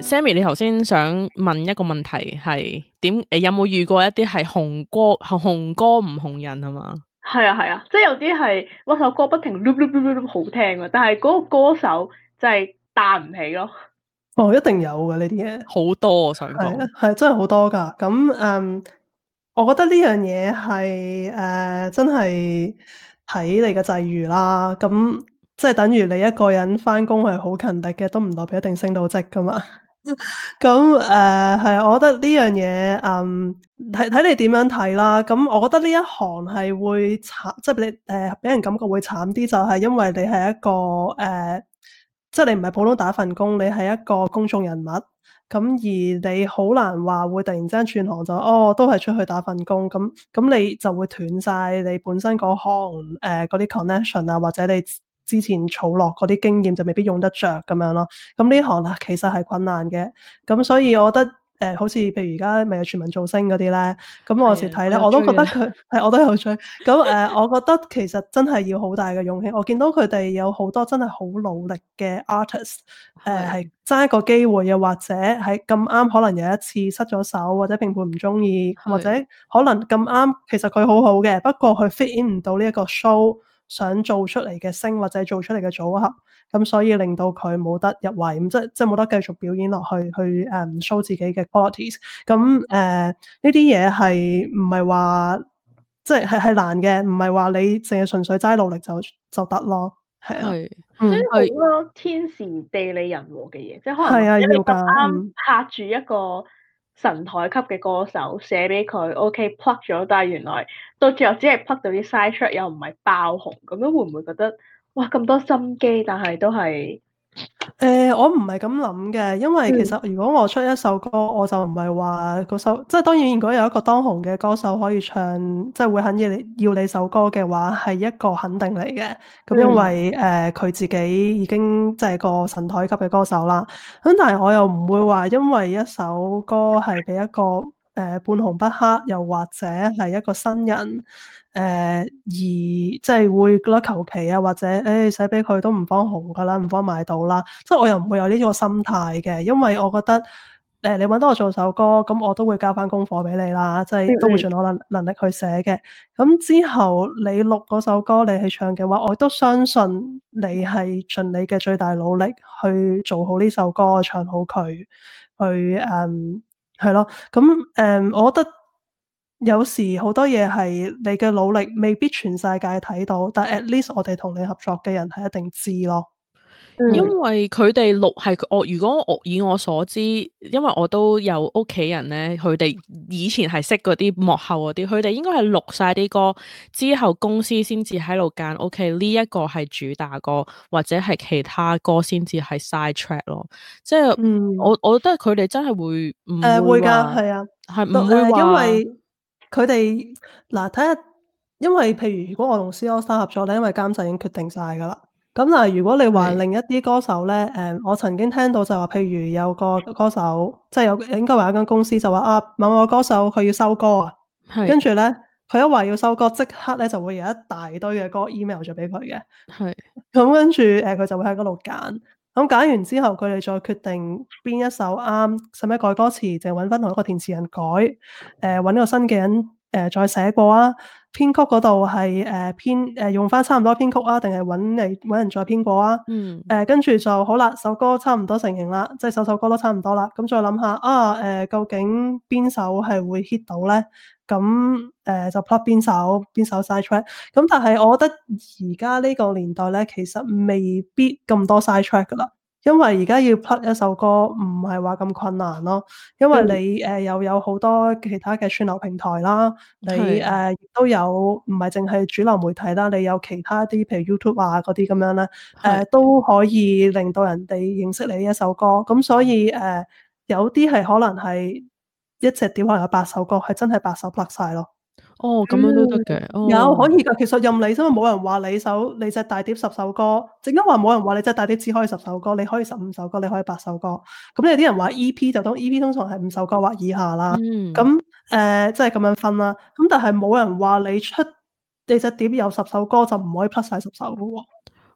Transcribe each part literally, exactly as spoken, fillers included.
Sammy，你頭先想問一個問題係點？誒，有冇遇過一啲係紅歌紅歌唔紅人係嘛？ 係啊係啊，即係有啲係嗰首歌不停碌碌碌碌碌好聽啊，但係嗰個歌手就係彈唔起咯。 哦，一定有嘅呢啲嘢， 好多我想係講， 係真係好多㗎。咁嗯，我覺得呢樣嘢係誒真係睇你嘅際遇啦。咁即係等於你一個人返工係好勤力嘅，都唔代表一定升到職㗎嘛。咁誒係，我覺得呢樣嘢，嗯，睇睇你點樣睇啦。咁我覺得呢一行係會慘，即係你誒俾人感覺會慘啲，就係因為你係一個誒、呃，即係你唔係普通打份工，你係一個公眾人物。咁而你好難話會突然之間轉行就哦，都係出去打份工。咁咁你就會斷晒你本身嗰行誒嗰啲 connection 啊，或者你之前儲落嗰啲經驗就未必用得着咁樣咯。咁呢行啊，其實係困難嘅。咁所以我覺得誒、呃，好似譬如而家咪有全民造星嗰啲咧，咁我有時睇咧，我都覺得佢係我都有追。咁誒、呃，我覺得其實真係要好大嘅勇氣。我見到佢哋有好多真係好努力嘅 artist，誒係爭一個機會，又或者係咁啱可能有一次失咗手，或者評判唔中意，或者可能咁啱其實佢好好嘅，不過佢 fit in 唔到呢一個 show。想做出嚟嘅星或者做出嚟嘅組合，咁所以令到佢冇得入圍，咁即即冇得繼續表演落去，去誒、um, show 自己嘅 qualities。咁誒呢啲嘢係唔係話即係係難嘅，唔係話你淨係純粹齋努力就就得咯，係啊， 係， 嗯， 即係好多天時地利人和嘅嘢，即係可能係啊， 你咁要㗎， 啱拍住一個神台級嘅歌手寫俾佢 OK plug 咗，但係原來到最後只係 plug 到啲 side track 又唔係爆紅，咁樣會唔會覺得哇咁多心機，但係都係？ 誒、呃，我唔係咁諗嘅，因為其實如果我出一首歌，我就唔係話嗰首，即係當然如果有一個當紅嘅歌手可以唱，即係會肯要你要你首歌嘅話，係一個肯定嚟嘅。咁因為誒佢、 嗯呃、自己已經即係個神台級嘅歌手啦。咁但係我又唔會話因為一首歌係俾一個誒、呃、半紅不黑，又或者係一個新人。誒、呃、而即係會覺得求其啊，或者誒寫俾佢都唔幫紅噶啦，唔幫買到啦。即係我又唔會有呢個心態嘅，因為我覺得誒、呃、你揾到我做首歌，咁我都會交翻功課俾你啦，即係都會盡我能能力去寫嘅。咁之後你錄嗰首歌，你去唱嘅話，我都相信你係盡你嘅最大努力去做好呢首歌，唱好佢，去誒係咯。咁誒、嗯，我覺得。有時好多嘢係你嘅努力未必全世界睇到，但 at least 我哋同你合作嘅人係一定知咯。 因為佢哋錄係我，如果我以我所知，因為我都有屋企人咧，佢哋以前係識嗰啲幕後嗰啲，佢哋應該係錄晒啲歌之後，公司先至喺度揀。OK，呢一個係主打歌，或者係其他歌先至係 side track 咯。即係、嗯、我我覺得佢哋真係會唔誒會㗎，係啊， 係唔會話、呃、 因為佢哋嗱睇下，因為譬如如果我同 C AllStar 合作咧，因為監製已經決定晒㗎啦。咁但係如果你話另一啲歌手咧，誒、嗯，我曾經聽到就話，譬如有個歌手，即係有應該話一間公司就話啊，某個歌手佢要收歌啊，跟住咧佢一話要收歌，即刻咧就會有一大堆嘅歌 email 咗俾佢嘅， 係咁跟住誒佢就會喺嗰度揀，咁揀完之後佢哋再決定邊一首啱，使唔使改歌詞，淨係揾翻同一個填詞人改，誒、呃、揾個新嘅人誒、呃、再寫過啊。編曲嗰度係誒編誒用翻差唔多編曲啊，定係揾你揾人再編過啊？嗯。誒跟住就好啦，首歌差唔多成型啦，即係首首歌都差唔多啦。咁再諗下啊誒、呃，究竟邊首係會 hit 到咧？咁誒、呃、就 plot 邊首邊首 side track。咁但係我覺得而家呢個年代咧，其實未必咁多 side track 噶啦。因為而家要 plug 一首歌唔係話咁困難咯，因為你誒、呃、又有好多其他嘅串流平台啦，你誒亦、呃、都有唔係淨係主流媒體啦，你有其他啲譬如 YouTube 啊嗰啲咁樣咧，誒、呃、都可以令到人哋認識你呢一首歌，咁所以誒、呃、有啲係可能係一隻碟可能有八首歌，係真係八首 plug 晒咯。 哦，咁樣都得嘅， 嗯哦、有可以噶，其實任你，因為冇人話你首你隻大碟十首歌，正因話冇人話你隻大碟只可以十首歌，你可以十五首歌，你可以八首歌。咁有啲人話 E P 就當 E P 通常係五首歌或以下啦。咁誒、嗯，即係咁樣分啦。咁但係冇人話你出你隻碟有十首歌就唔可以 plus 晒十首噶喎。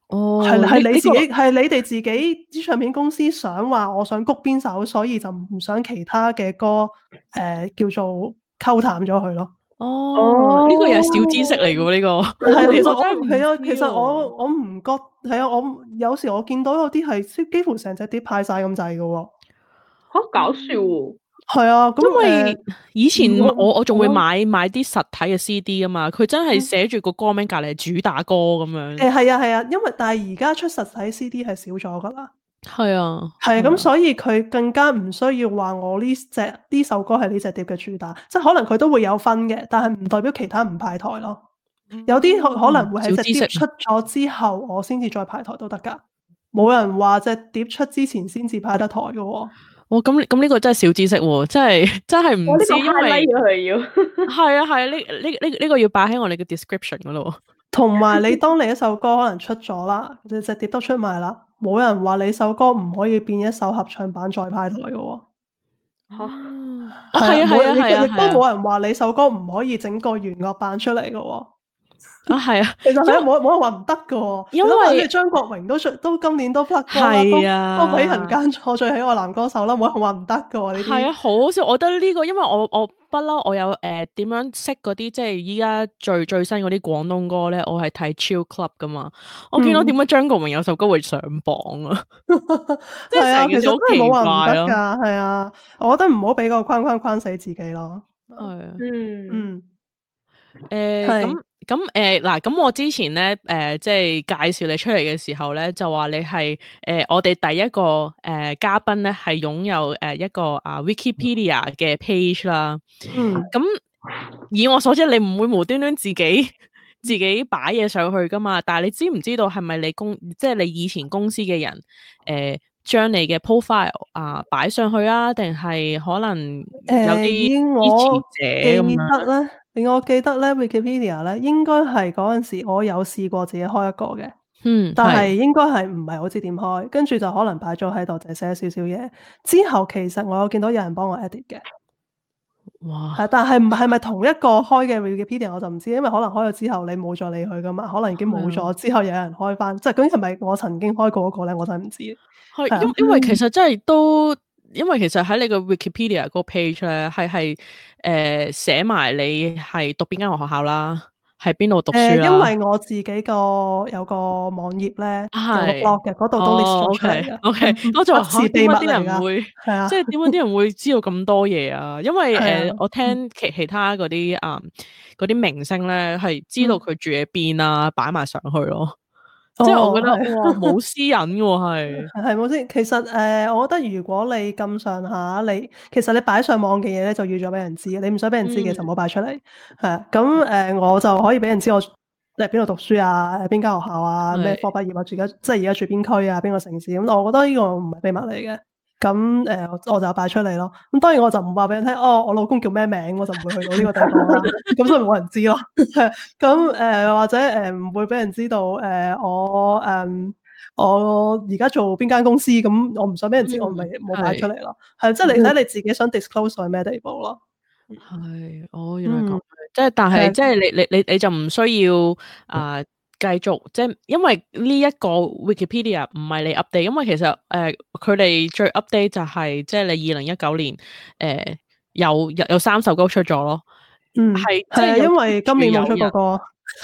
哦， 係係你自己呢呢個係你哋自己啲唱片公司想話我想谷邊首，所以就唔想其他嘅歌誒、呃、叫做溝淡咗佢咯。 哦，呢個又係小知識嚟嘅喎，呢個係啊，其實我我真係唔知係啊，其實喎我我唔覺係啊，我有時我見到有啲係幾乎成隻碟派晒咁滯嘅喎。 好搞笑喎！ 係啊，咁因為誒以前嗯我我我仲會我買買啲實體嘅 C D 啊嘛，佢真係嗯寫住個歌名隔離係主打歌咁樣。 誒係啊係啊，因為但係而家出實體 C D 係少咗噶啦。 係啊， 係啊， 係啊咁所以佢更加唔需要話我呢隻呢首歌係呢隻碟嘅主打，即係可能佢都會有分嘅，但係唔代表其他唔派台咯。有啲可可能會係隻小知識碟出咗之後，我先至再派台都得㗎。冇人話隻碟出之前先至派得台嘅喎。 哇！咁咁呢個真係小知識喎，真係真係唔知， 我呢個因為 highlight 咗佢要。 係啊係啊，呢呢呢呢個要擺喺我哋嘅 description 嗰度。 同埋你當你一首歌可能出咗啦，隻隻碟都出埋啦，冇人話你首歌唔可以變一首合唱版再派台嘅喎。 嚇！ 哦，係啊冇係啊係啊亦都係啊， 冇人話你首歌唔可以整個弦樂版出嚟嘅喎。 啊係啊， 其實係冇冇人話唔得嘅喎。 因為你諗下即係張國榮都出都今年都 plug 歌啦， 係啊都都俾人揀錯最喜愛男歌手啦，冇人話唔得嘅喎呢啲。 係啊，好好笑！我覺得呢個，因為我我不嬲，我有誒點樣識嗰啲即係依家最最新嗰啲廣東歌咧，我係睇 Chill Club 噶嘛。我見到點解張國榮有首歌會上榜啊？即係啊， 係成件事好其實真係奇冇話唔得怪咯。 㗎，係啊，我覺得唔好俾個框框框死自己咯。 係啊。 嗯嗯， 誒係咁咁誒嗱，咁我之前咧誒、呃、即係介紹你出嚟嘅時候咧，就話你係誒、呃、我哋第一個誒、呃、嘉賓咧，係擁有誒一個啊 Wikipedia 嘅 page 啦。 嗯， 咁以我所知，你唔會無端端自己自己擺嘢上去噶嘛？但係你知唔知道係咪你公即係你以前公司嘅人誒將、呃、你嘅 profile 啊擺上去啊？定係可能有啲誒以支我持者咁記樣？ 得咧，以我記得咧 Wikipedia 咧，應該係嗰陣時我有試過自己開一個嘅。 嗯， 但係係應該係唔係好知點開，跟住就可能擺咗喺度，就寫少少嘢。之後其實我有見到有人幫我 edit 嘅， 哇！ 係，但係唔係咪同一個開嘅 Wikipedia 我就唔知，因為可能開咗之後你冇再理佢噶嘛，可能已經冇咗，之後有人開翻，即係究竟係咪我曾經開過嗰個咧，我真係唔知。 係係啊因因為其實真係都，因為其實喺你個 Wikipedia 嗰個 page 咧，係係誒寫埋你係讀邊間學校啦，喺邊度讀書誒， 啦。 因為我自己個有個網頁咧，有個係 blog 嘅，嗰度都 list 哦咗出嚟嘅。 ，OK，OK， 嗯我就話不是秘密嚇點解啲嚟㗎， 人會， 係啊， 即係點解啲人會知道咁多嘢啊？因為係啊誒，我聽其其他嗰啲啊嗰啲明星咧，係知道佢住喺邊啊，擺埋上去咯。即係我覺得哦係哇，冇私隱嘅喎，係。 係冇先，其實誒、呃，我覺得如果你咁上下，你其實你擺上網嘅嘢咧，就預咗俾人知，你唔想俾人知嘅嗯就唔好擺出嚟。係啊，咁誒，我就可以俾人知我喺邊度讀書啊，誒邊間學校啊，咩係科畢業啊，住而家即係而家住邊區啊，邊個城市咁，我覺得呢個唔係秘密嚟嘅。咁誒、呃，我就擺出嚟咯。咁當然我就唔話俾人聽，哦，我老公叫咩名，我就唔會去到呢個地方啦。咁所以冇人知咯。咁誒、呃、或者誒唔、呃、會俾人知道誒、呃、我誒、呃、我而家做邊間公司，咁我唔想俾人知， 嗯我咪冇擺出嚟咯。 係係即係你睇你自己想 disclose 到係咩地步咯。 係，哦，原來咁嗯樣，即係但係係即係你你你你就唔需要啊、呃、繼續，即係因為呢一個 Wikipedia 唔係你 update，因為其實誒佢哋最 update 就係、即係你二零一九年誒、呃、有有有三首歌出咗咯， 嗯係即係啊， 係有因為今年冇出過歌。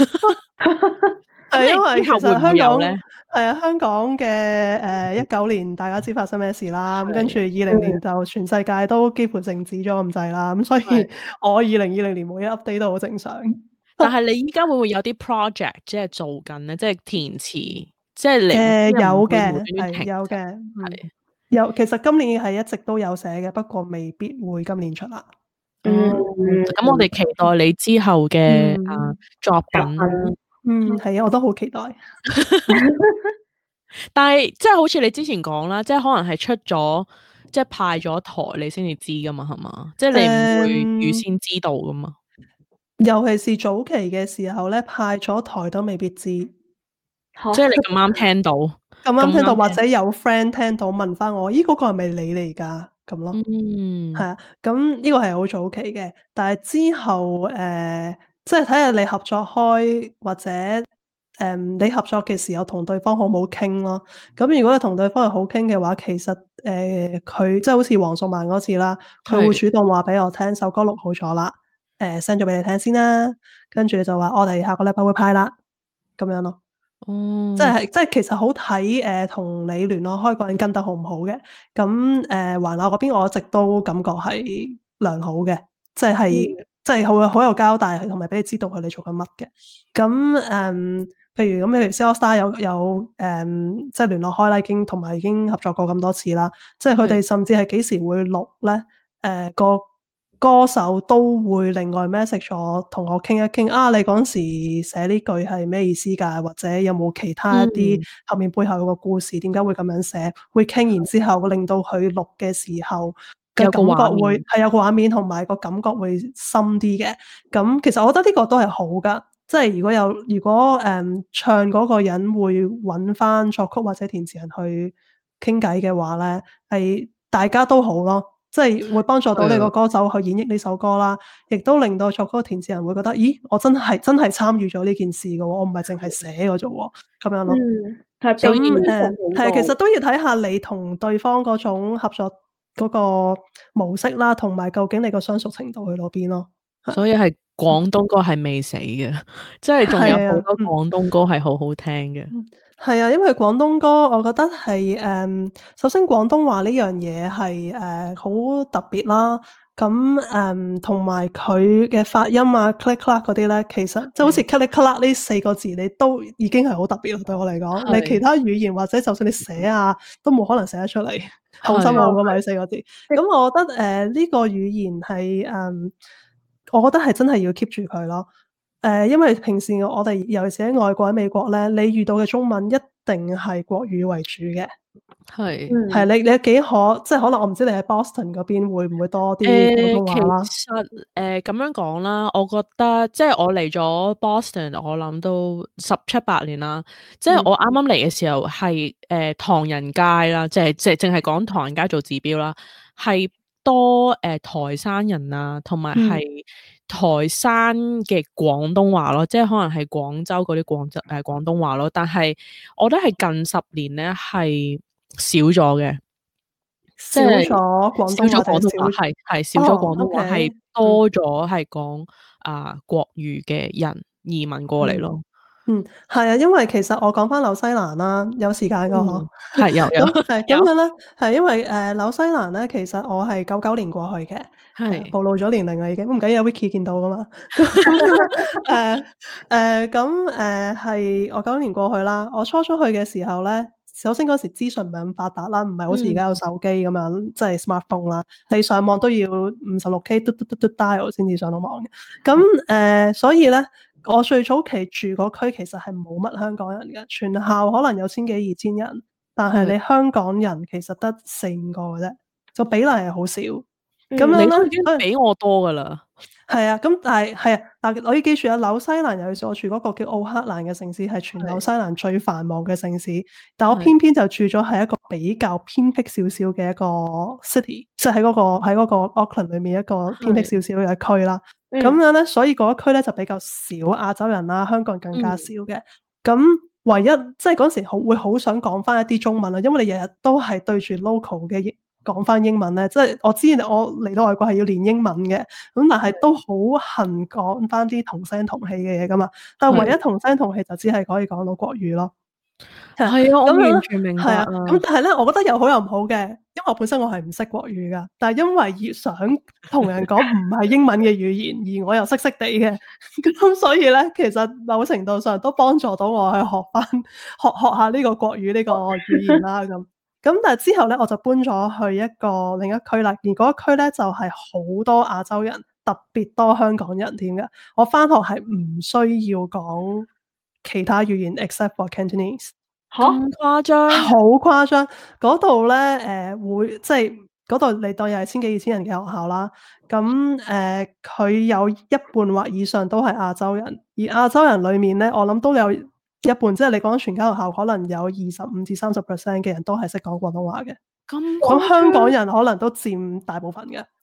係因為其實之後會唔香港會有咧？ 係啊，香港嘅誒一九年大家知發生咩事啦，咁係跟住二零年就全世界都幾乎靜止咗咁滯啦，咁所以係我二零二零年冇一 update 都好正常。 但係你依家會唔會有啲 project 即係做緊咧？即係填詞，即係你誒有即係唔會嘅無端端停係有嘅，嗯係有其實今年係一直都有寫嘅，不過未必會今年出啦。 哦，咁我哋期待你之後嘅嗯啊作品啦。 嗯，係啊，我都好期待。 但係即係好似你之前講啦，即係可能係出咗即係派咗台你先至知噶嘛，係嘛？即係你唔會預先知道噶嘛？ 尤其是早期嘅時候咧，派咗台都未必知。 嚇即係你咁啱聽到， 咁啱聽到， 咁啱或者有 friend 聽到問翻我，咦嗰、個係咪你嚟㗎？咁咯， 嗯， 係啊，咁呢個係好早期嘅，但係之後誒、呃即係睇下你合作開或者誒、 誒你合作嘅時候同對方好唔好傾咯。咁如果你同對方係好傾嘅話，其實誒佢即係好似黃淑蔓嗰次啦，佢會主動話俾我聽首歌錄好咗啦，誒 send 咗俾你聽先啦，跟住就話我哋下個禮拜會派啦，咁樣咯。 哦， 即係即係其實好睇誒同你聯絡開嗰人跟得好唔好嘅。咁誒環亞嗰邊我一直都感覺係良好嘅，即係、嗯、即係好好有交代，同埋俾你知道佢哋做緊乜嘅。咁誒、嗯，譬如咁，譬如 C AllStar 有有誒、嗯，即係聯絡開啦，已經同埋已經合作過咁多次啦。即係佢哋甚至係幾時會錄咧？誒、呃、個歌手都會另外 message 我，同我傾一傾啊！你嗰時寫呢句係咩意思㗎？或者有冇其他一啲後面背後有個故事？點解會咁樣寫？會傾完之後，令到佢錄嘅時候嘅感覺會係有個畫面，同埋個感覺會深啲嘅。咁其實我覺得呢個都係好㗎。即係如果有如果誒、嗯、唱嗰個人會揾翻作曲或者填詞人去傾偈嘅話咧，係大家都好咯。即係會幫助到你個歌手去演繹呢首歌啦，亦都令到作曲填詞人會覺得，咦，我真係真係參與咗呢件事嘅喎，我唔係淨係寫嘅啫喎，咁樣咯。 嗯，係咁誒係，其實都要睇下你同對方嗰種合作嗰個模式啦，同埋究竟你個相熟程度去到邊咯。 所以係廣東歌係未死嘅，即係仲有好多廣東歌係好好聽嘅。 係啊，因為廣東歌，我覺得係誒、嗯，首先廣東話呢樣嘢係誒好特別啦。咁誒，同埋佢嘅發音啊，click clack 嗰啲咧，其實即係好似 click clack 呢四個字，你都已經係好特別啦。對我嚟講，你其他語言或者就算你寫啊，都冇可能寫得出嚟，好深奧噶嘛呢四個字。咁我覺得誒呢、呃呢個語言係誒、嗯，我覺得係真係要 keep 住佢咯。誒、呃，因為平時我哋尤其是喺外國喺美國咧，你遇到嘅中文一定係國語為主嘅， 係係、嗯、你你幾可，即係可能我唔知你喺 Boston 嗰邊會唔會多啲廣東話啦、呃。其實誒咁、呃、樣講啦，我覺得即係我嚟咗 Boston，我諗都十七八年啦。即係我啱啱嚟嘅時候係誒、呃、唐人街啦，即係即係淨係講唐人街做指標啦，係多誒、呃、台山人啊，同埋係。嗯台山嘅廣東話咯，即係可能係廣州嗰啲廣州誒廣東話咯，但係我覺得係近十年咧係少咗嘅， 少咗廣東話， 廣東話係係少咗廣東話，係、哦 okay，多咗係講啊國語嘅人移民過嚟咯。 嗯，係啊，因為其實我講翻紐西蘭啦，有時間噶嗬，係、嗯、有有係咁樣咧，係因為誒紐、呃、西蘭咧，其實我係九九年過去嘅，係暴露咗年齡啦已經，唔緊要有 Wiki 見到噶嘛，誒誒咁誒係我九九年過去啦，我初初去嘅時候咧，首先嗰時資訊唔係咁發達啦，唔係好似而家有手機咁樣，即、嗯、係 smartphone 啦，你上網都要五十六 K 嘟嘟嘟嘟 dial 先至上到網嘅，咁誒、呃、所以咧。我最早期住嗰區其實係冇乜香港人嘅，全校可能有千幾二千人，但係你香港人其實得四五個嘅啫，就比例係好少。咁、嗯、樣咧， 你都已經比我多噶啦。係啊，咁但係係啊，但係我要記住啊，紐西蘭尤其是我住嗰個叫奧克蘭嘅城市，係全紐西蘭最繁忙嘅城市，但我偏偏就住咗喺一個比較偏僻少少嘅一個 city，即係喺嗰個喺嗰個 Auckland 裏面一個偏僻少少嘅區啦。咁樣咧，所以嗰一區咧就比較少亞洲人啦，香港人更加少嘅。咁、嗯、唯一即係嗰時好會好想講翻一啲中文啦，因為你日日都係對住 local 嘅講翻英文咧，即係我知我嚟到外國係要練英文嘅，咁但係都好恨講翻啲同聲同氣嘅嘢噶嘛。但係唯一同聲同氣就只係可以講到國語咯。係啊，我完全明白啊。咁但係咧，我覺得有好有唔好嘅，因為我本身我係唔識國語噶，但係因為要想同人講唔係英文嘅語言，而我又識識地嘅，咁所以咧，其實某程度上都幫助到我去學翻學學下呢個國語呢個語言啦。咁咁但係之後咧，我就搬咗去一個另一區啦，而嗰一區咧就係、是、好多亞洲人，特別多香港人添嘅。我翻學係唔需要講其他語言 except for Cantonese。 咁誇張， 好誇張！嗰度咧，誒、呃、會即係嗰度你當又係千幾二千人嘅學校啦。咁誒，佢、呃、有一半或以上都係亞洲人，而亞洲人裡面咧，我諗都有一半，即係你講全間學校可能有二十五至三十 percent 嘅人都係識講廣東話嘅。咁咁香港人可能都佔大部分嘅。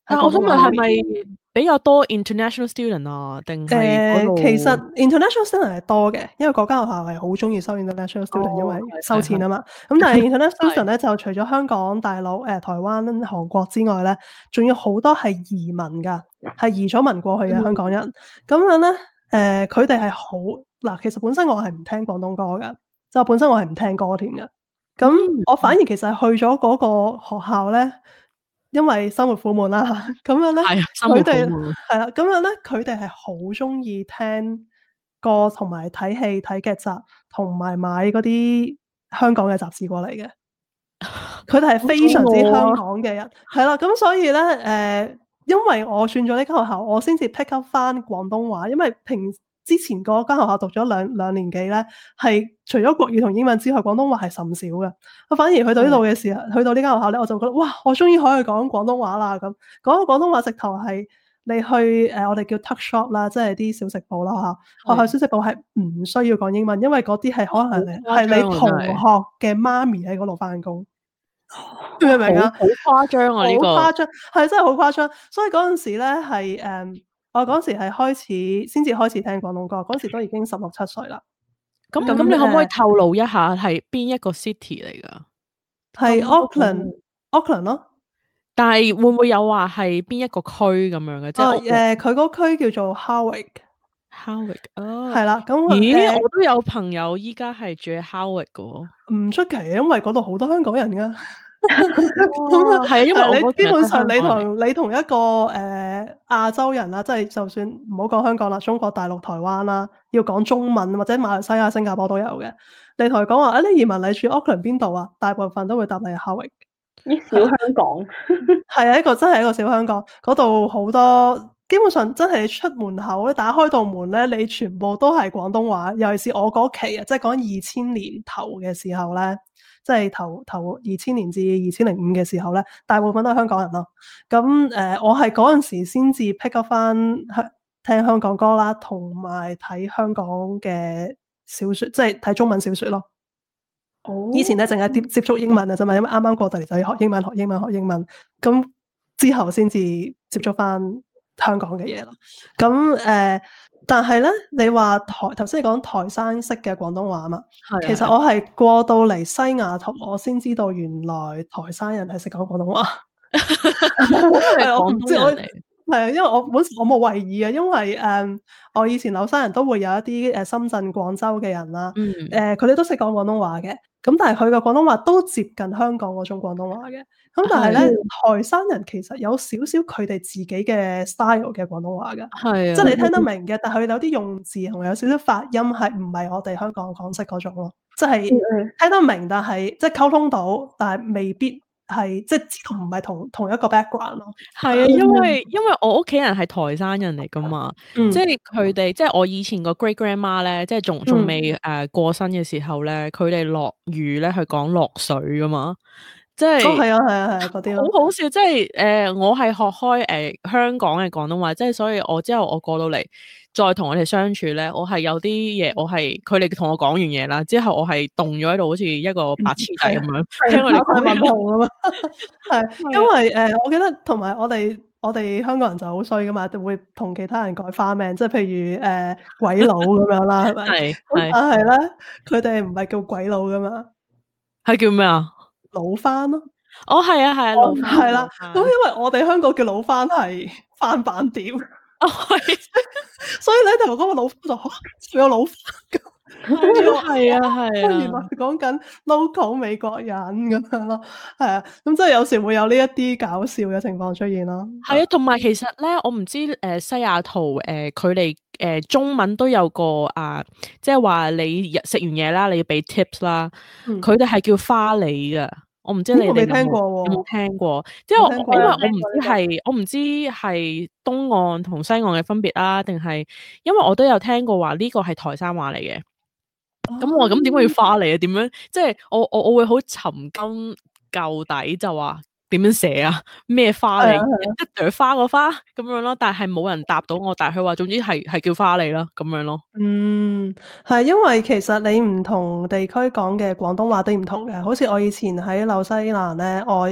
但我想問係咪比較多 international student 啊？定係嗰度？ 其實 international student 係多嘅，因為嗰間學校係好中意收 international student，、哦、因為收錢啊嘛。咁但係 international student 咧就除咗香港、大陸、誒、呃、台灣、韓國之外咧，仲有好多係移民㗎，係移咗民過去嘅香港人。咁、嗯、樣咧，誒佢哋係好嗱，其實本身我係唔聽廣東歌㗎，就本身我係唔聽歌添嘅。咁我反而其實去咗嗰個學校咧。因為生活苦悶啦，咁樣咧，佢哋係啦，咁樣咧，佢哋係好中意聽歌同埋睇戲、睇劇集，同埋買嗰啲香港嘅雜誌過嚟嘅。佢哋係非常之香港嘅人，係啦，咁所以咧，誒、呃，因為我轉咗呢間學校，我先至 pick up 翻廣東話，因為平之前嗰間學校讀咗兩兩年幾咧，係除咗國語同英文之外，廣東話係甚少嘅。我反而去到呢度嘅時候，去到呢間學校咧，我就覺得哇，我終於可以講廣東話啦！咁講個廣東話直頭係你去誒、呃，我哋叫 tuck shop 啦，即係啲小食部啦嚇。學校小食部係唔需要講英文，因為嗰啲係可能係你同學嘅媽咪喺嗰度翻工。明唔明啊？ 好誇張啊！呢、這個好誇張，係真係好誇張。所以嗰陣時咧係誒，我嗰陣時係開始先至開始聽廣東歌，嗰陣時都已經十六七歲啦。 咁咁，你可唔可以透露一下係邊一個 city 嚟㗎？ 係 Auckland，Auckland 咯。 但係會唔會有話係邊一個區咁樣嘅？即係誒，佢嗰區叫做 Howick。 Howick 哦， 係啦。咁咦、 呃， 我都有朋友依家係住喺 Howick 嘅喎。 唔出奇，因為嗰度好多香港人㗎。 係啊，因為你基本上你同你同一個誒、呃、亞洲人啦，即係就算唔好講香港啦，中國大陸、台灣啦，要講中文或者馬來西亞、新加坡都有嘅。你同佢講話啊，你移民你住 Auckland 邊度啊？大部分都會答你係 Howick。 啲小香港係啊，一個真係一個小香港，嗰度好多，基本上真係你出門口咧，打開道門咧，你全部都係廣東話。尤其是我嗰期啊，即係講二千年頭嘅時候咧。即係頭頭二千年至二千零五嘅時候咧，大部分都係香港人咯。咁誒、呃，我係嗰陣時先至 pick up 翻香聽香港歌啦，同埋睇香港嘅小説，即係睇中文小説咯。 哦， 以前咧淨係接接觸英文啊啫嘛，因為啱啱過到嚟就要學英文、學英文、學英文。咁之後先至接觸翻香港嘅嘢咯。咁誒。呃但係咧，你話台頭先你講台山式嘅廣東話嘛？其實我係過到嚟西雅圖，我先知道原來台山人係識講廣東話。係我唔知我係啊，因為我本我冇為意啊，因為誒、嗯、我以前紐西人都會有一啲誒深圳、廣州嘅人啦，誒佢哋都識講廣東話嘅。咁但係佢嘅廣東話都接近香港嗰種廣東話嘅。咁但係咧，台山人其實有少少佢哋自己嘅 style 嘅廣東話嘅，係啊，即係你聽得明嘅，但係佢有啲用字同有少少發音係唔係我哋香港港式嗰種咯，即係聽得明，但係即係溝通到，但係未必係即係知道唔係同同一個 background 咯。係啊， 因為因為我屋企人係台山人嚟噶嘛，嗯、即係佢哋即係我以前個 great grandma 咧，即係仲仲未誒過身嘅時候咧，佢哋落雨咧係講落水噶嘛。即係， 哦係啊係啊係啊嗰啲好好笑，即係誒、呃，我係學開誒、呃、香港嘅廣東話，即係所以我之後我過到嚟，再同我哋相處咧，我係有啲嘢，我係佢哋同我講完嘢啦，之後我係凍咗喺度，好似一個白痴仔咁樣，聽佢哋講文號啊嘛， 係因為誒、呃，我記得同埋我哋我哋香港人就好衰噶嘛，就會同其他人改花名，即係譬如誒、呃、鬼佬咁樣啦，係咪？係係，但係咧，佢哋唔係叫鬼佬噶嘛， 係叫咩啊？ 老番咯， 哦係啊係啊，老番係啦，咁因為我哋香港叫老番係翻版碟，哦係，所以你頭嗰個老番就仲有老番咁， 係啊係啊， 原來講緊 local 美國人咁樣咯，係啊，咁即係有時會有呢一啲搞笑嘅情況出現咯。 係啊，同埋其實咧，我唔知誒、呃、西雅圖誒佢哋誒中文都有個啊，即係話你食完嘢啦，你要俾 tips 啦，佢哋係叫花梨噶。我唔知你哋有冇聽過喎，有冇聽過？即係我因為我唔知係我唔知係東岸同西岸嘅分別啦，定係因為我都有聽過話呢個係台山話嚟嘅。咁、哦、我咁點解要花梨啊？點樣？即係我我我會好尋根究底就話點樣寫啊？咩花梨？一朵花個花咁樣咯。但係冇人答到我，但係佢話總之係係叫花梨啦咁樣咯。 嗯，係因為其實你唔同地區講嘅廣東話都唔同嘅，好似我以前喺紐西蘭咧，我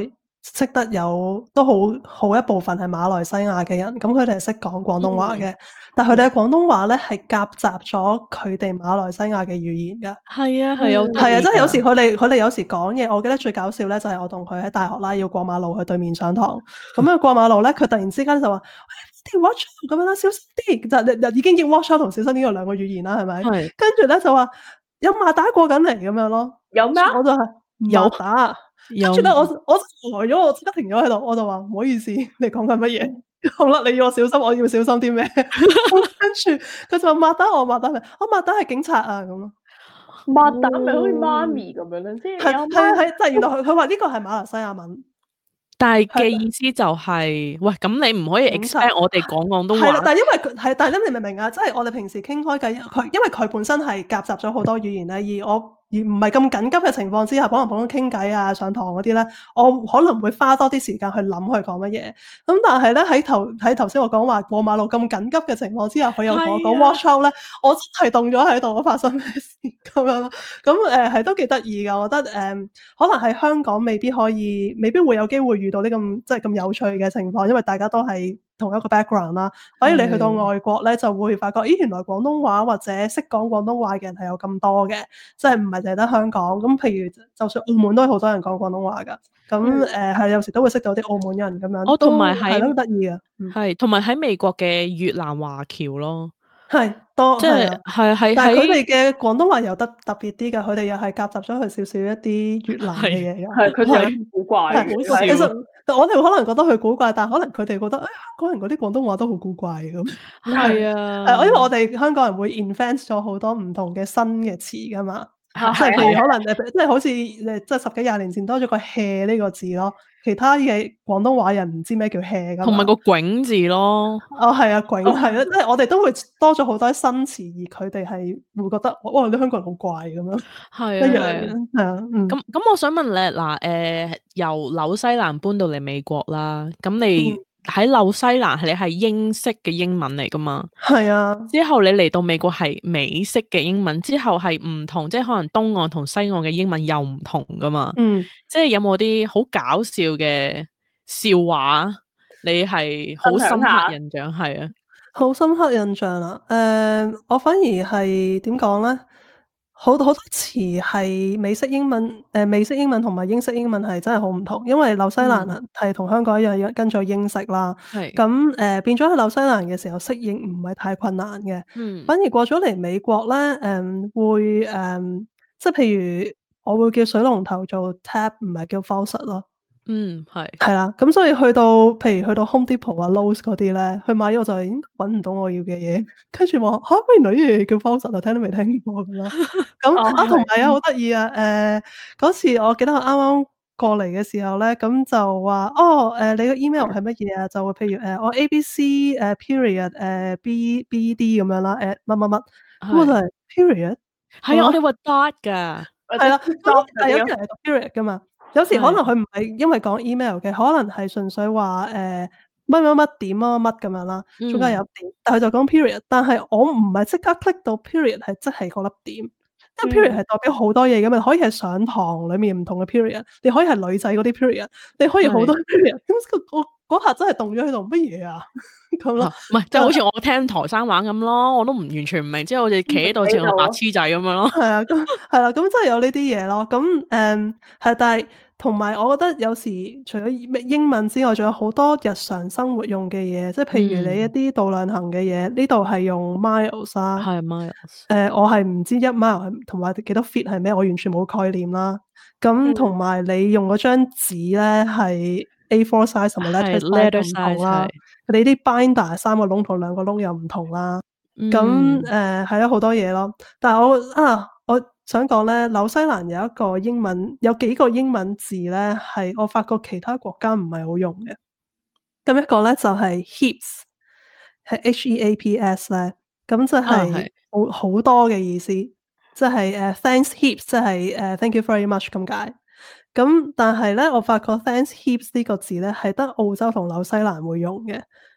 識得有都好好一部分係馬來西亞嘅人，咁佢哋係識講廣東話嘅，嗯、但係佢哋嘅廣東話咧係夾雜咗佢哋馬來西亞嘅語言㗎。 係啊係啊， 係啊，即係有時佢哋佢哋有時講嘢，我記得最搞笑咧就係我同佢喺大學啦，要過馬路去對面上堂，咁樣過馬路咧，佢突然之間就話：watch out 咁樣啦，小心啲！就就已經要 watch out 同小心呢個兩個語言啦，係咪？係。跟住咧就話有馬打過緊嚟咁樣咯。有咩？我就係有打。跟住咧，我我呆咗，我即刻停咗喺度，我就話唔好意思，你講緊乜嘢？好啦，你要我小心，我要小心啲咩？跟住佢就話馬打我馬打咪，我馬打係警察啊咁咯。 馬打咪好似媽咪咁樣咧，即係係係係，即係原來佢佢話呢個係馬來西亞文。 但係嘅意思就係、是，喂，咁你唔可以 expect 我哋講廣東話。係啦， 但係因為佢係，但係你明唔明啊？即係我哋平時傾開偈，佢因為佢本身係夾雜咗好多語言咧，而我。而唔係咁緊急嘅情況之下，可能普通傾偈啊、上堂嗰啲咧，我可能會花多啲時間去諗佢講乜嘢。咁但係咧喺頭喺頭先我講話過馬路咁緊急嘅情況之下，佢又同我講 watch out 咧，我真係凍咗喺度，我發生咩事咁樣咯。咁誒係都幾得意㗎，我覺得誒、呃、可能喺香港未必可以，未必會有機會遇到呢咁即係咁有趣嘅情況，因為大家都係同一個 background 啦，反而你去到外國咧，就會發覺，咦，原來廣東話或者識講廣東話嘅人係有咁多嘅，即係唔係淨係得香港。咁譬如就算澳門都係好多人講廣東話㗎，咁誒係有時都會識到啲澳門人咁樣。 我同埋係都得意嘅， 係同埋喺美國嘅越南華僑咯， 係多即係係係， 但係佢哋嘅廣東話又得特別啲㗎，佢哋又係夾雜咗佢少少一啲越南嘅嘢㗎， 係佢哋係古怪嘅， 好笑。其實我哋可能覺得佢古怪，但係可能佢哋覺得，哎呀，香港人嗰啲廣東話都好古怪咁。 係啊， 係，因為我哋香港人會 invent 咗好多唔同嘅新嘅詞㗎嘛，即係譬如可能誒，即係好似誒，即係十幾廿年前多咗個 hea 呢個字咯，其他嘅廣東話人唔知咩叫 hea 㗎。 同埋個囧字咯。 哦，係啊，囧係啊，即係我哋都會多咗好多新詞，而佢哋係會覺得，哇，啲香港人好怪咁樣。 係一樣啊， 係啊，嗯。 咁咁，我想問你嗱，誒，由紐西蘭搬到嚟美國啦，咁你喺紐西蘭係你係英式嘅英文嚟噶嘛？係啊。之後你嚟到美國係美式嘅英文，之後係唔同，即係可能東岸同西岸嘅英文又唔同噶嘛？嗯。即係有冇啲好搞笑嘅笑話？你係好深刻印象係啊？ 好深刻印象啊！誒、呃，我反而係點講咧？好好多詞係美式英文，誒、呃、美式英文同埋英式英文係真係好唔同，因為紐西蘭人係同香港一樣跟咗英式啦。係咁誒，變咗喺紐西蘭嘅時候適應唔係太困難嘅。嗯，反而過咗嚟美國咧，誒、呃、會誒、呃，即係譬如我會叫水龍頭做 tap，唔係叫 faucet 咯。嗯，係係啦，咁所以去到，譬如去到 Home Depot 啊、Lowe's 嗰啲咧，去買咗我就已經揾唔到我要嘅嘢，跟住話嚇，原來呢樣嘢叫 faucet 啊，聽都未聽過咁啦。咁啊，同埋啊，好得意啊，誒嗰次我記得我啱啱過嚟嘅時候咧，咁就話哦，誒你個 email 係乜嘢啊？就會譬如誒我 A B C 誒 period 誒 B B D 咁樣啦，誒乜乜乜，咁我就係 period， 係啊，我哋話 dot 㗎， 係啦，但係有啲人係讀 period 㗎嘛。有時可能佢唔係因為講 email 嘅，可能係純粹話誒乜乜乜點乜乜咁樣啦，中間有點，但係佢就講 period。但係我唔係即刻 click 到 period 係即係嗰粒點，因為 period 係代表好多嘢㗎嘛，可以係上堂裡面唔同嘅 period，你可以係女仔嗰啲 period，你可以好多 period。咁我嗰下真係凍咗喺度，乜嘢啊咁咯？ 唔係，就好似我聽台山話咁咯，我都唔完全唔明，即係好似企喺度似個白痴仔咁樣咯。係啊，咁係啦，咁真係有呢啲嘢咯。咁誒係，但係。同埋，我覺得有時除咗英文之外，仲有好多日常生活用嘅嘢，即係譬如你一啲度量衡嘅嘢，呢度係用 miles 啦，係 miles。誒，我係唔知一 mile 係同埋幾多 feet 係咩，我完全冇概念啦。咁同埋你用嗰張紙咧係 A four size 同埋 letter size 唔同啦。你啲 binder 三個窿同兩個窿又唔同啦。咁誒係咯，好多嘢咯。但係我啊，我想講咧，紐西蘭有一個英文，有幾個英文字咧，係我發覺其他國家唔係好用嘅。咁一個咧就係 heaps，係 H E A P S 咧，咁即係好好多嘅意思，即係誒 thanks heaps，即係誒 thank you very much 咁解。咁但係咧，我發覺 thanks heaps 呢個字咧係得澳洲同紐西蘭會用嘅。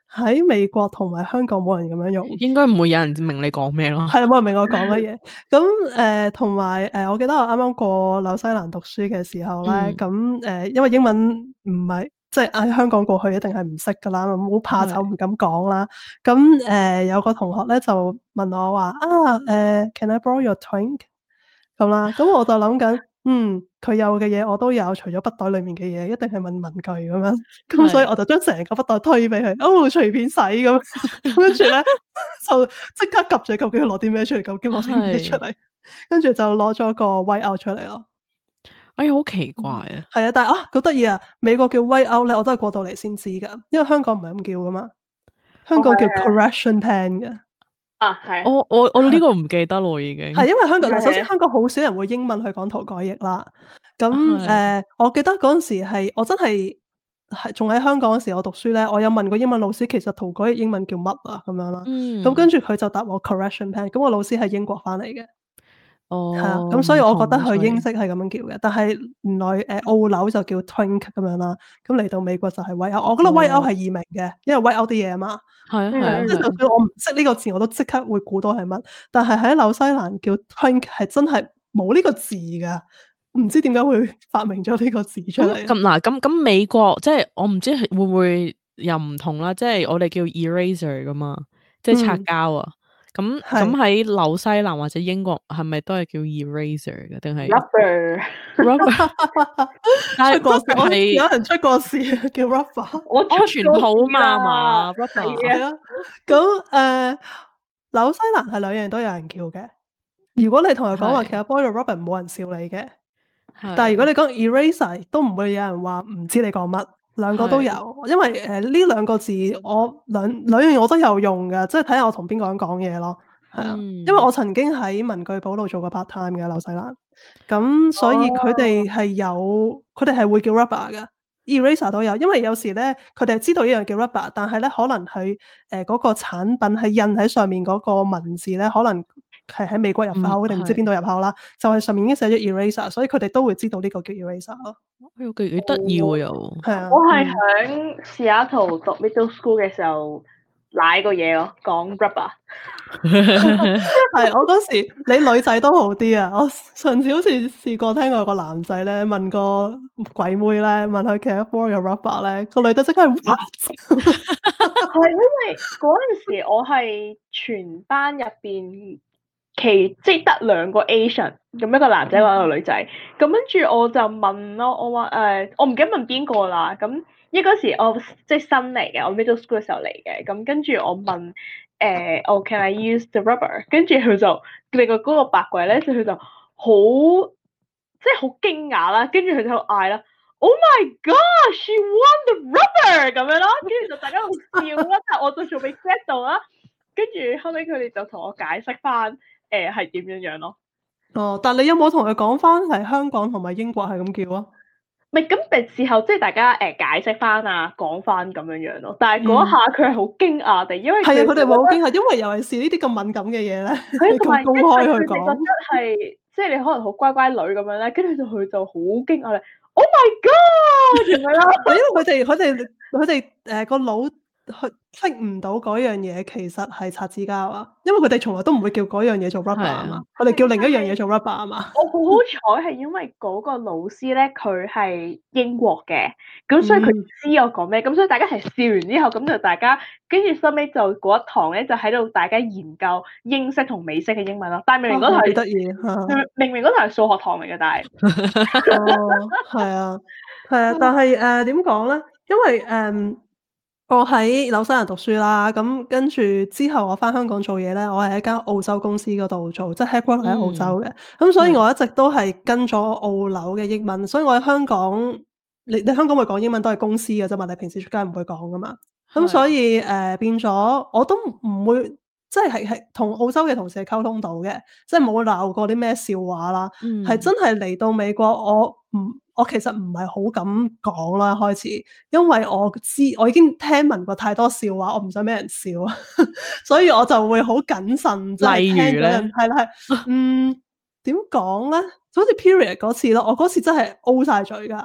喺美國同埋香港冇人咁樣用， 應該唔會有人明你講咩咯。 係冇人明我講乜嘢。咁誒同埋誒，我記得我啱啱過紐西蘭讀書嘅時候咧，咁誒、 嗯呃、因為英文唔係即係喺香港過去一定係唔識噶啦，好怕醜唔敢講啦。咁誒、呃、有個同學咧就問我話啊誒、呃、，Can I borrow your twink？ 咁啦，咁我就諗緊。嗯，佢有嘅嘢我都有，除咗筆袋裡面嘅嘢，一定係問文具咁樣。咁所以我就將成個筆袋推俾佢，哦，隨便使咁。跟住咧就即刻及住究竟佢攞啲咩出嚟，究竟攞啲咩出嚟。跟住就攞咗個 white out 出嚟咯。 哎呀，好奇怪啊！ 係、嗯、啊，但係啊，好得意啊！美國叫 white out 咧，我都係過到嚟先知㗎，因為香港唔係咁叫噶嘛。香港叫 correction pen 嘅。 啊，係。 我我我呢個唔記得咯，已經係因為香港嗱，首先香港好少人會英文去講塗改液啦。咁誒、呃，我記得嗰陣時係我真係係仲喺香港嗰時，我讀書咧，我有問過英文老師，其實塗改液英文叫乜啊？咁樣啦。 嗯。 咁跟住佢就答我 correction pen。咁我老師係英國翻嚟嘅。 哦。 係啊。咁所以我覺得佢英式係咁樣叫嘅，但係原來誒、呃、澳紐就叫 twink 咁樣啦。咁嚟到美國就係 white out。我覺得 white out 係易明嘅，因為 white out 啲嘢啊嘛。 係啊係啊， 即係就算我唔識呢個字，我都即刻會估到係乜。但係喺紐西蘭叫 twink 係真係冇呢個字㗎，唔知點解會發明咗呢個字出嚟。 咁嗱，咁咁美國即係我唔知會唔會又唔同啦。即係我哋叫 eraser 㗎嘛，即係擦膠啊。咁咁喺紐西蘭或者英國係咪都係叫 eraser 嘅？定係 rubber rubber？但係 rubber 係有人出過事叫 rubber， 我安全套嘛嘛 rubber 係啊。咁誒、呃、紐西蘭係兩樣都有人叫嘅。如果你同佢講話其實 borrow rubber 冇人笑你嘅，但係如果你講 eraser 都唔會有人話唔知你講乜。兩個都有，因為誒呢兩個字我兩兩樣我都有用嘅，即係睇下我同邊個人講嘢咯，係啊、嗯，因為我曾經喺文具鋪度做過 part time 嘅紐西蘭，咁所以佢哋係有，佢哋係會叫 rubber 嘅 eraser 都有，因為有時咧佢哋係知道呢樣叫 rubber，但係咧可能佢誒嗰個產品係印喺上面嗰個文字咧，可能係喺美國入口定唔、嗯、知邊度入口啦，就係、是、上面已經寫咗 eraser，所以佢哋都會知道呢個叫 eraser 咯。 幾幾得意喎又， 係啊！ 我係喺 Seattle 讀 middle school 嘅時候舐個嘢咯，講 rubber。 係我嗰時，你女仔都好啲啊！我上次好似試過聽過個男仔咧問個鬼妹咧問佢其實 borrow your rubber 咧，個女仔即刻係係因為嗰陣時我係全班入邊。其即係得兩個 Asian，咁一個男仔一個女仔，咁跟住我就問咯，我話誒、呃，我唔記得問邊個啦，咁因為嗰時我即係新嚟嘅，我 middle school 嘅時候嚟嘅，咁跟住我問誒，我、呃 oh, can I use the rubber？ 跟住佢就另外嗰個白鬼咧，佢就好即係好驚訝啦，跟住佢就嗌啦 ，Oh my God, she won the rubber 咁樣咯，跟住就大家好笑啦，但係我就仲未 get 到啦，跟住後尾佢哋就同我解釋翻。誒係點樣樣咯？ 哦，但係你有冇同佢講翻係香港同埋英國係咁叫啊？ 唔係咁，誒事後即係大家誒、呃、解釋翻啊，講翻咁樣樣咯。但係嗰一下佢係好驚訝地，因為係啊，佢哋冇好驚訝，因為尤其是呢啲咁敏感嘅嘢咧，佢咁公開去講，覺得係即係你可能好乖乖女咁樣咧，跟住就佢就好驚訝咧。Oh my God！咁樣啦， 因為佢哋佢哋佢哋誒個腦。佢識唔到嗰樣嘢其實係擦紙膠啊，因為佢哋從來都唔會叫嗰樣嘢做 rubber 啊嘛，佢哋叫另一樣嘢做 rubber 啊嘛。 我好好彩係因為嗰個老師咧，佢係英國嘅，咁所以佢知我講咩，咁、嗯、所以大家一齊笑完之後，咁就大家跟住收尾就嗰一堂咧，就喺度大家研究英式同美式嘅英文咯。但係明明嗰堂係得意， 明明嗰堂係數學堂嚟嘅，但係哦，係啊，係啊，但係誒點講咧？因為誒。嗯我喺紐西蘭讀書啦，咁跟住之後我翻香港做嘢咧，我係喺間澳洲公司嗰度做，即係 headquarter 喺澳洲嘅，咁、嗯、所以我一直都係跟咗澳紐嘅英文，所以我喺香港，你你香港會講英文都係公司嘅啫嘛，你平時出街唔會講噶嘛，咁所以誒、呃、變咗我都唔會，即係係係同澳洲嘅同事係溝通到嘅，即係冇鬧過啲咩笑話啦，係、嗯、真係嚟到美國我唔。我其實唔係好敢講啦，開始，因為我知我已經聽聞過太多笑話，我唔想俾人笑，所以我就會好謹慎。 例如咧， 係啦係，嗯，點講咧？就好似 period 嗰次咯，我嗰次真係 O 晒嘴噶，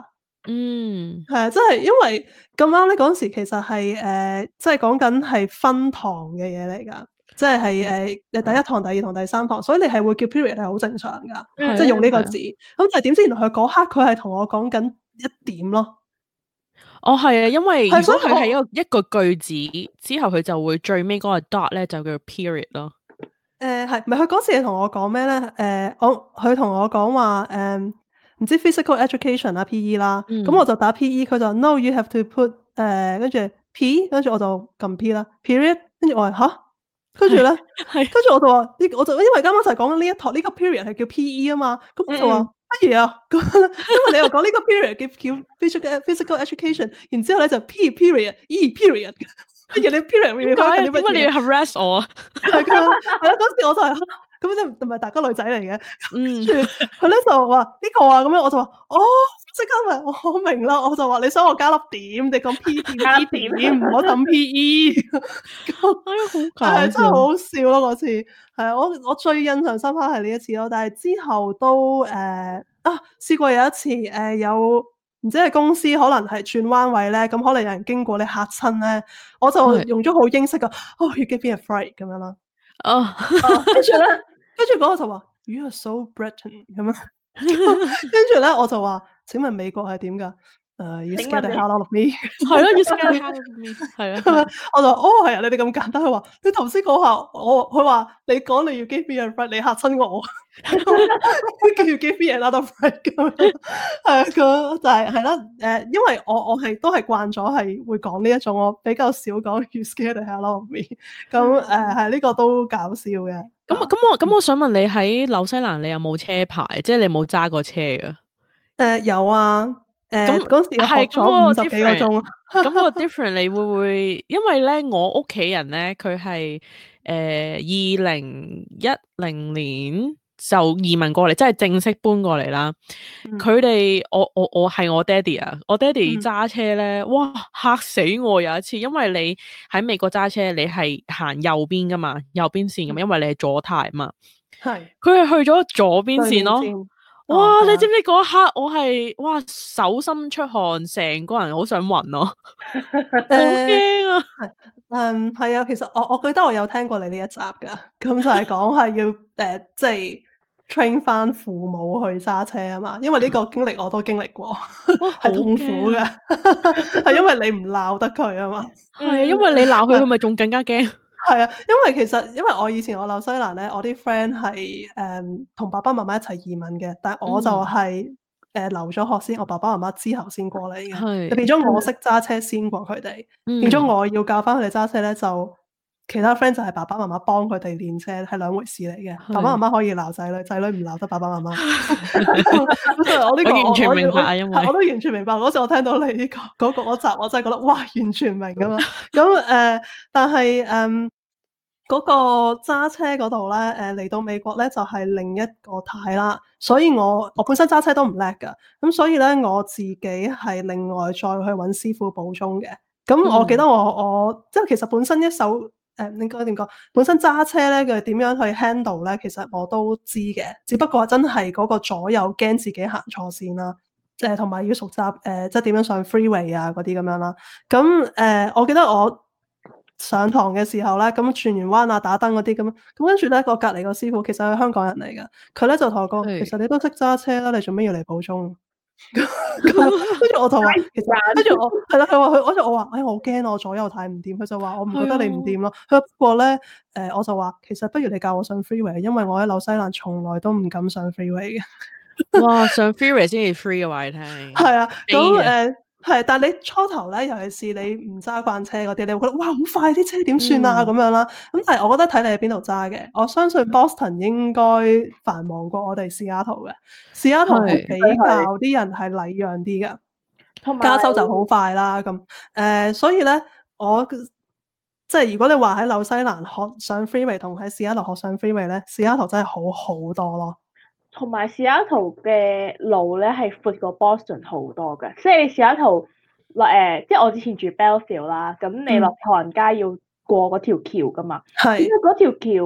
嗯， 係啊，即係因為咁啱咧，嗰時其實係誒，即係講緊係分堂嘅嘢嚟㗎，即係係誒誒第一堂、第二堂、第三堂，所以你係會叫 period 係好正常㗎， 嗯即係用呢個係啊字。咁但係點知原來佢嗰刻佢係同我講緊一點咯。 哦係啊，因為如係所以我果佢係一個一個句子之後，佢就會最尾嗰個 dot 咧就叫 period 咯。 誒係，唔係佢嗰時係同我講咩咧？誒、我佢同我講話誒，唔知 physical education 啦 P E 啦，咁、 嗯我就打 P E，佢就話 no you have to put 誒、跟住 P，跟住我就撳 P 啦，period，跟住我話吓，跟住咧， 係跟住我就話呢，我就因為啱啱就係講緊呢一堂呢個 period 係叫 P E 啊嘛，咁我就話嗯乜嘢啊？咁因為你又講呢個 period 叫叫 physical physical education，然之後咧就 P period E period，跟住你 period 會點解啊？ 緊啲乜嘢點解你要 harass 我啊？ 係噶，係啦，嗰時我就係咁即係唔係大家女仔嚟嘅， 嗯跟住佢咧就話呢個啊，咁樣我就話哦，即刻咪我明啦，我就話你想我加粒點，你講 P 點加粒 P 點點，唔好撳 P E， 哎呀，好搞係真係笑。 好笑咯嗰次，係啊，我我最印象深刻係呢一次咯，但係之後都誒、呃、啊試過有一次誒、呃、有。唔知係公司可能係轉彎位咧，咁可能有人經過你嚇親咧，我就係用咗好英式嘅，哦，you give me a fright 咁樣啦。 哦， 跟住咧，跟住嗰個就話，You are so Britain 咁樣。跟住咧，我就話：請問美國係點㗎？誒，You 請 scared 問 the 你 hell out of me？ 係咯，要 scan how me 係啊， 係咪？我就話：哦，係啊，你哋咁簡單。佢話：你頭先講下，我佢話你講你要 give me a fright，你嚇親我。叫 give me another fright 咁樣。係啊，咁就係係啦。誒，因為我我係都係慣咗係會講呢一種，我比較少講 You scared the hell out of me。咁誒係呢個都搞笑嘅。 咁咁我咁我想問你喺紐西蘭你有冇車牌？即係你冇揸過車㗎？ 誒有啊，誒咁嗰時我學係咗五咁十幾個鐘啊。 咁個 different 你會唔會？因為咧，我屋企人咧，佢係誒二零一零年就移民過嚟，即係正式搬過嚟啦。 嗯佢哋、我我我係我爹哋啊！我爹哋嗯揸車咧，哇嚇死我！有一次，因為你喺美國揸車，你係行右邊噶嘛，右邊線噶嘛，因為你係左軚嘛。 係佢係去咗左邊線咯。 對面線哇！ 哦你知唔知嗰一刻我係哇手心出汗，成個人好想暈咯，好驚啊！ 係嗯係啊，其實我我記得我有聽過你呢一集㗎，咁就係講係要誒、呃、即係 train 翻父母去揸車啊嘛，因為呢個經歷我都經歷過， 哇， 係痛苦嘅，係因為你唔鬧得佢啊嘛。 係啊，因為你鬧佢，佢咪仲更加驚。 係啊，因為其實因為我以前我紐西蘭咧，我啲 friend 係誒同爸爸媽媽一齊移民嘅，但係我就係、是、誒、呃、留咗學先，我爸爸媽媽之後先過嚟嘅， 係就變咗我識揸車先過佢哋， 嗯變咗我要教翻佢哋揸車咧，就其他 friend 就係爸爸媽媽幫佢哋練車，係兩回事嚟嘅。 係爸爸媽媽可以鬧仔女，仔女唔鬧得爸爸媽媽。咁所以我呢、這個我完全我明白啊，因為我都完全明白。嗰時我聽到你呢、這個嗰、那個集，我真係覺得哇，完全明㗎嘛。咁誒、呃，但係誒嗰個揸車嗰度咧，誒嚟到美國咧就係、是、另一個態啦。所以我我本身揸車都唔叻㗎，咁所以咧我自己係另外再去揾師傅補鐘嘅。咁我記得我、嗯、我即係其實本身一手誒、呃、應該點講？本身揸車咧佢點樣去 handle 咧，其實我都知嘅。只不過真係嗰個左右驚自己行錯線啦，誒同埋要熟習誒、呃、即係點樣上 freeway 啊嗰啲咁樣啦。咁誒、呃、我記得我上堂嘅時候咧，咁轉完彎啊打燈嗰啲咁，咁跟住咧個隔離個師傅其實係香港人嚟嘅，佢咧就同我講， 係其實你都識揸車啦，你做咩要嚟補鐘？跟住我就話，其實跟住我係啦，佢話佢，跟住我話，哎，我好驚我左右睇唔掂。佢就話我唔覺得你唔掂咯。佢話不過咧，誒、呃，我就話其實不如你教我上 freeway，因為我喺紐西蘭從來都唔敢上 freeway 嘅。 哇，上 freeway 先至 free 嘅話，你聽係啊，咁誒。 飛嘅呃係，但係你初頭咧，尤其是你唔揸慣車嗰啲，你會覺得哇好快啲車點算啊咁、嗯、樣啦。咁但係我覺得睇你喺邊度揸嘅，我相信 Boston 應該繁忙過我哋西雅圖嘅。西雅圖係比較啲人係禮讓啲嘅，同埋加州就好快啦。咁誒、呃，所以咧我即係如果你話喺紐西蘭學上 freeway 同喺西雅圖學上 freeway 咧，西雅圖真係好好多咯。 同埋西雅圖嘅路咧係闊過 Boston 好多嘅，即係西雅圖落誒，即係我之前住 Belleville 啦，咁你落唐人街要過嗰條橋噶嘛， 係、嗯， 因為嗰條橋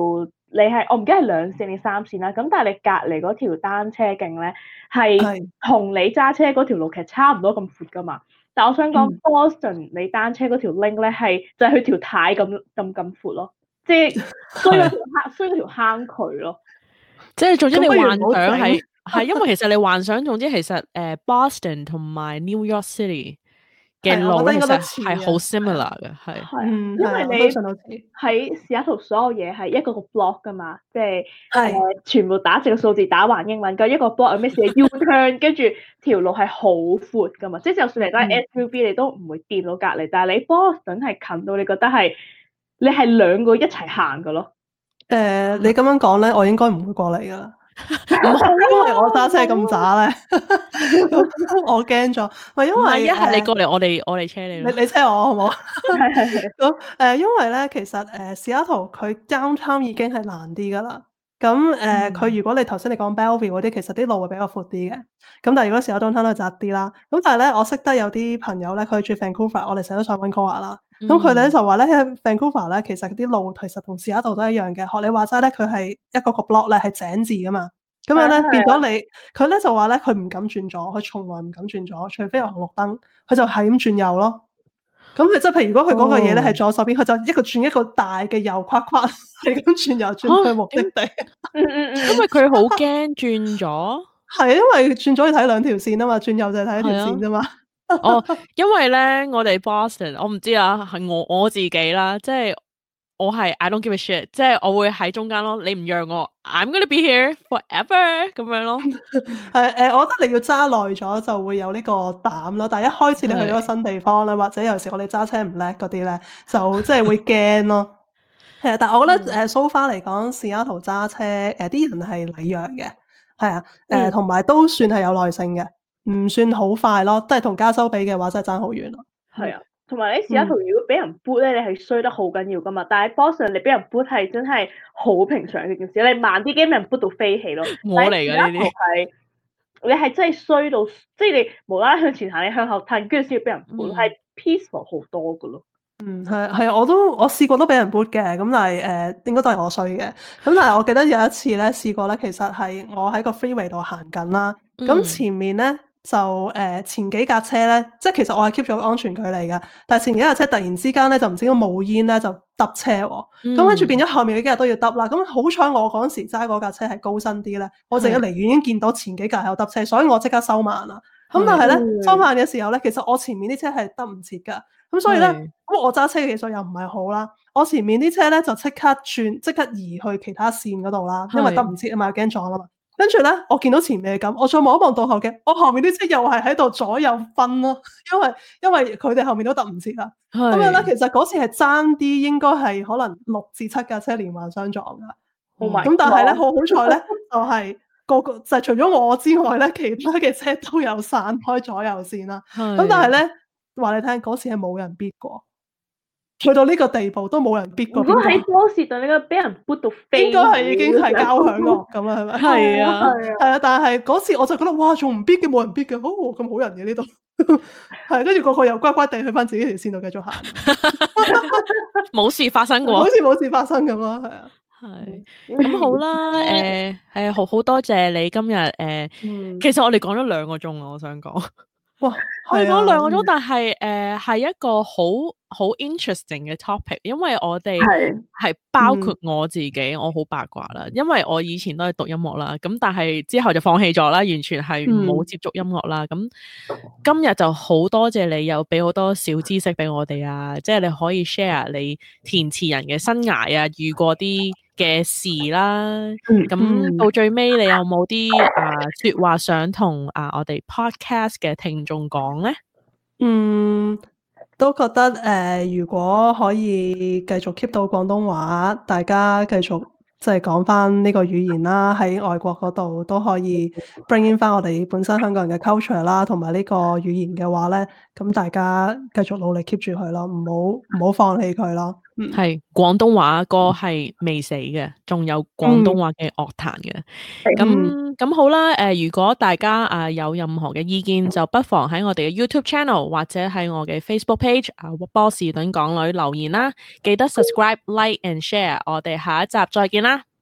你係我唔記得係兩線定三線啦，咁但係你隔離嗰條單車徑咧係同你揸車嗰條路其實差唔多咁闊噶嘛。但我想講、嗯、Boston 你單車嗰條 link 咧係就係佢條軚咁咁咁闊咯，即係衰嗰條坑衰嗰條坑渠咯。 即係總之你幻想係係因為其實你幻想總之其實誒、uh, Boston 同埋 New York City 嘅路其實係好 similar 嘅，係係因為你喺西雅圖所有嘢係一個個 block 噶嘛，即係誒全部打字嘅數字打橫英文，咁一個 block 有咩事 U turn， 跟住條路係好闊噶嘛，即係就算你都係 S U V、嗯、你都唔會掂到隔離，但係你 Boston 係近到你覺得係你係兩個一齊行噶咯。 誒、呃，你咁樣講咧，我應該唔會過嚟噶啦，因為我揸車咁渣咧，我驚咗。唔係因為一係你過嚟，我哋我哋車你。 你你車我好唔好？係係係。咁誒，因為咧，其實誒，西雅圖佢 downtown 已經係難啲噶啦。咁誒，佢、呃、如果你頭先你講 Bellevue 嗰啲，其實啲路會比較闊啲嘅。咁但係如果西雅圖 downtown 都窄啲啦。咁但係咧，我識得有啲朋友咧，佢住 Vancouver，我哋成日都上溫哥華啦。咁佢哋咧就話咧喺 Vancouver 咧，其實啲路其實同西雅圖都一樣嘅。學你話齋咧，佢係一個個 block 咧係井字噶嘛。咁樣咧變咗你，佢咧就話咧佢唔敢轉左，佢從來唔敢轉左，除非有紅綠燈，佢就係咁轉右咯。咁佢即係譬如如果佢嗰個嘢咧係左手邊，佢、oh. 就一個轉一個大嘅右框框，係咁轉右轉去目的地。 嗯嗯嗯，因為佢好驚轉咗。 係因為轉左要睇兩條線啊嘛，轉右就係睇一條線啫嘛。 哦，因為咧，我哋 Boston， 我唔知啊，係我我自己啦，即係我係 I don't give a shit，即係我會喺中間咯，你唔讓我 ，I'm gonna be here forever 咁樣咯。 係誒、呃，我覺得你要揸耐咗就會有呢個膽咯，但係一開始你去咗個新地方咧，或者有時我哋揸車唔叻嗰啲咧，就即係會驚咯。係啊，但係我覺得誒 so far 嚟講，西雅圖揸車誒啲、呃、人係禮讓嘅，係啊，誒同埋都算係有耐性嘅。唔算好快咯，都係同加州比嘅話，真係爭好遠咯。 係啊，同埋你西雅圖如果俾人 boot 咧，你係衰得好緊要噶嘛。但係 Boston 你俾人 boot 係真係好平常嘅件事，你慢啲驚俾人 boot 到飛起咯。 我嚟㗎呢啲係你係真係衰到，即係你無啦啦向前行，你向後褪，跟住先要俾人 boot，係、嗯、peaceful 好多噶咯。嗯， 係係，我都我試過都俾人 boot 嘅，咁但係誒、呃、應該都係我衰嘅。咁但係我記得有一次咧試過咧，其實係我喺個 freeway 度行緊啦，咁、嗯、前面咧。就誒、呃、前幾架車咧，即係其實我係 keep 咗安全距離嘅，但係前幾架車突然之間咧就唔知點解冒煙咧就揼車喎，咁跟住變咗後面嗰幾日都要揼啦。咁好彩我嗰陣時揸嗰架車係高身啲咧，我淨係離遠已經見到前幾架喺度揼車，所以我即刻收慢啦。咁但係咧收慢嘅時候咧，其實我前面啲車係揼唔切㗎，咁所以咧，咁我揸車嘅技術又唔係好啦，我前面啲車咧就即刻轉即刻移去其他線嗰度啦，因為揼唔切啊嘛，驚撞啊嘛。跟住咧，我見到前面係咁，我再望一望倒後鏡，我後面啲車又係喺度左右分咯，因為因為佢哋後面都揼唔切啦。咁樣咧，其實嗰次係爭啲，應該係可能六至七架車連環相撞噶。咁、嗯、但係咧，好好彩咧，就係、是、個個就係、是、除咗我之外咧，其他嘅車都有散開左右線啦。咁但係咧，話你聽，嗰次係冇人 beat 過。去到呢個地步都冇人逼過。如果喺波士頓，你個俾人 boot 到飛， 應該係已經係交響樂咁啦，係咪？ 係啊， 係啊，但係嗰次我就覺得哇，仲唔逼嘅，冇人逼嘅，好咁好人嘅呢度。係，跟住個個又乖乖地去翻自己條線度繼續行， 冇事發生過， 好似冇事發生咁咯，係啊。 係咁好啦，誒、呃，係好好多謝你今日誒、呃嗯，其實我哋講咗兩個鐘啊，我想講。哇，可以講兩個鐘，但係誒係一個好好 interesting 嘅 topic，因為我哋係包括我自己，嗯、我好八卦啦，因為我以前都係讀音樂啦，咁但係之後就放棄咗啦，完全係冇接觸音樂啦。咁、嗯、今日就好多謝你，又俾好多小知識俾我哋啊，即係你可以 share 你填詞人嘅生涯啊，遇過啲嘅事啦，咁、嗯、到最尾你有冇啲啊說話想同啊我哋 podcast 嘅聽眾講咧？ 嗯，都覺得誒、呃，如果可以繼續 keep 到廣東話，大家繼續即係講翻呢個語言啦，喺外國嗰度都可以 bring in 翻我哋本身香港人嘅 culture 啦，同埋呢個語言嘅話咧，咁大家繼續努力 keep 住佢咯，唔好唔好放棄佢咯。 係廣東話歌係未死嘅，仲有廣東話嘅樂壇嘅。咁咁好啦，誒、呃，如果大家啊、呃、有任何嘅意見，就不妨喺我哋嘅 YouTube channel 或者喺我嘅 Facebook page 啊、呃、波士頓港女留言啦。記得 subscribe、like and share。我哋下一集再見啦，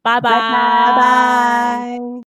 拜拜， 拜拜拜拜。